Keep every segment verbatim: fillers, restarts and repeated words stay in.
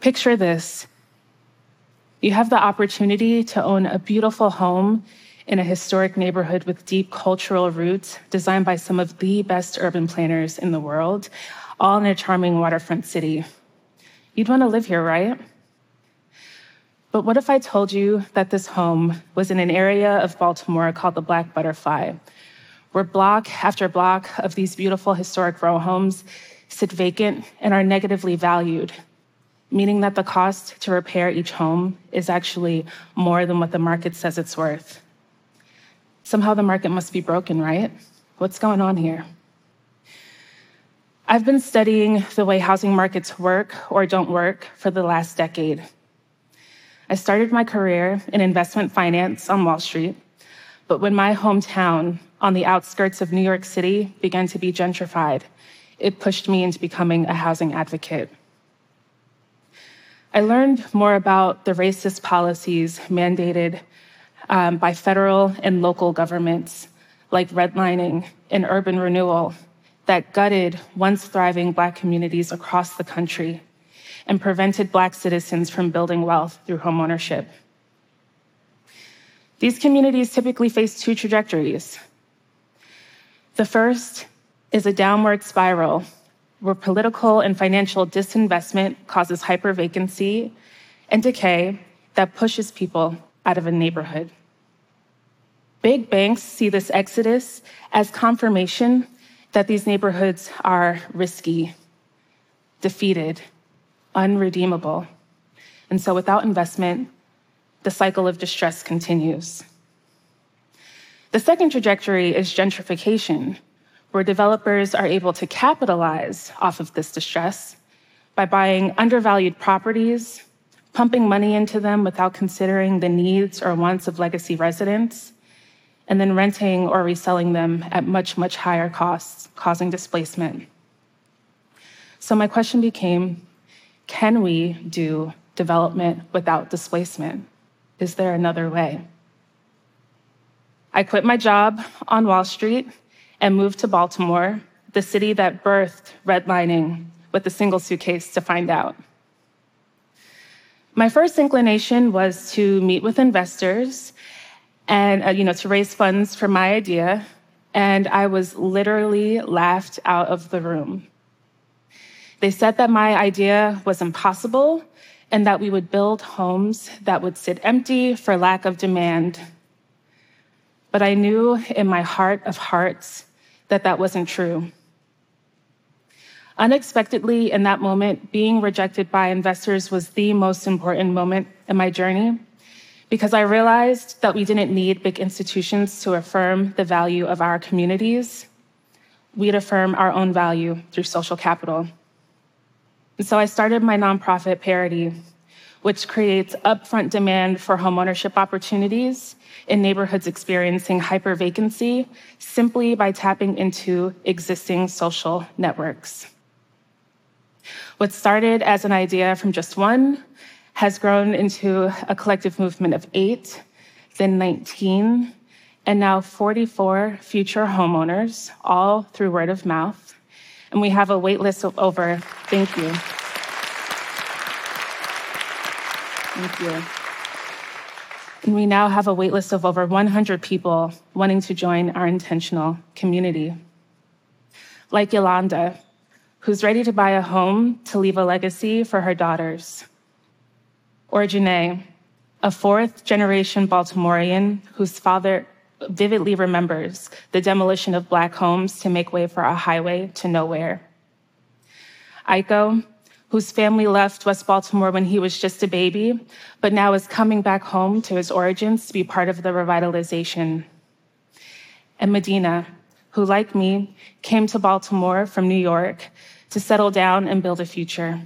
Picture this. You have the opportunity to own a beautiful home in a historic neighborhood with deep cultural roots designed by some of the best urban planners in the world, all in a charming waterfront city. You'd want to live here, right? But what if I told you that this home was in an area of Baltimore called the Black Butterfly, where block after block of these beautiful historic row homes sit vacant and are negatively valued, meaning that the cost to repair each home is actually more than what the market says it's worth. Somehow the market must be broken, right? What's going on here? I've been studying the way housing markets work or don't work for the last decade. I started my career in investment finance on Wall Street, but when my hometown on the outskirts of New York City began to be gentrified, it pushed me into becoming a housing advocate. I learned more about the racist policies mandated um, by federal and local governments, like redlining and urban renewal, that gutted once thriving Black communities across the country and prevented Black citizens from building wealth through homeownership. These communities typically face two trajectories. The first is a downward spiral where political and financial disinvestment causes hypervacancy and decay that pushes people out of a neighborhood. Big banks see this exodus as confirmation that these neighborhoods are risky, defeated, unredeemable. And so without investment, the cycle of distress continues. The second trajectory is gentrification, where developers are able to capitalize off of this distress by buying undervalued properties, pumping money into them without considering the needs or wants of legacy residents, and then renting or reselling them at much, much higher costs, causing displacement. So my question became, can we do development without displacement? Is there another way? I quit my job on Wall Street and moved to Baltimore, the city that birthed redlining, with a single suitcase to find out. My first inclination was to meet with investors and uh, you know, to raise funds for my idea, and I was literally laughed out of the room. They said that my idea was impossible and that we would build homes that would sit empty for lack of demand. But I knew in my heart of hearts that that wasn't true. Unexpectedly, in that moment, being rejected by investors was the most important moment in my journey, because I realized that we didn't need big institutions to affirm the value of our communities. We'd affirm our own value through social capital. And so I started my nonprofit, Parity, which creates upfront demand for homeownership opportunities in neighborhoods experiencing hypervacancy simply by tapping into existing social networks. What started as an idea from just one has grown into a collective movement of eight, then nineteen, and now forty-four future homeowners, all through word of mouth. And we have a wait list of over, thank you. Thank you. And we now have a wait list of over one hundred people wanting to join our intentional community. Like Yolanda, who's ready to buy a home to leave a legacy for her daughters. Or Janae, a fourth generation Baltimorean whose father vividly remembers the demolition of Black homes to make way for a highway to nowhere. Aiko, whose family left West Baltimore when he was just a baby, but now is coming back home to his origins to be part of the revitalization. And Medina, who, like me, came to Baltimore from New York to settle down and build a future.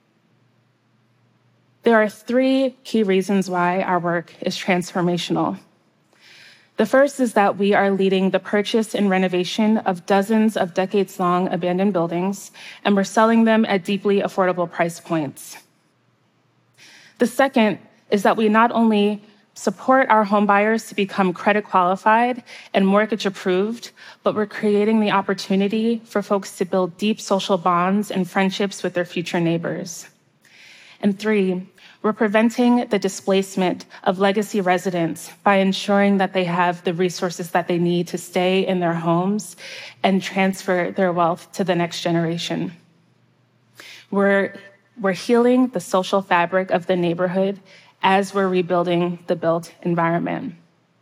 There are three key reasons why our work is transformational. The first is that we are leading the purchase and renovation of dozens of decades-long abandoned buildings, and we're selling them at deeply affordable price points. The second is that we not only support our homebuyers to become credit qualified and mortgage approved, but we're creating the opportunity for folks to build deep social bonds and friendships with their future neighbors. And three, we're preventing the displacement of legacy residents by ensuring that they have the resources that they need to stay in their homes and transfer their wealth to the next generation. We're, we're healing the social fabric of the neighborhood as we're rebuilding the built environment.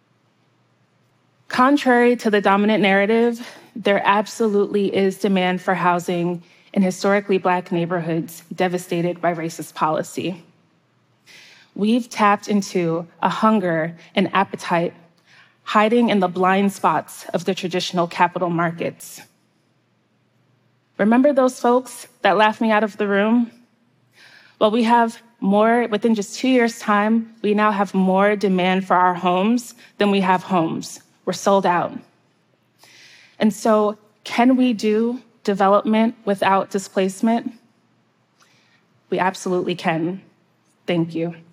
Contrary to the dominant narrative, there absolutely is demand for housing in historically Black neighborhoods devastated by racist policy. We've tapped into a hunger and appetite hiding in the blind spots of the traditional capital markets. Remember those folks that laughed me out of the room? Well, we have more, within just two years' time, we now have more demand for our homes than we have homes. We're sold out. And so, can we do development without displacement? We absolutely can. Thank you.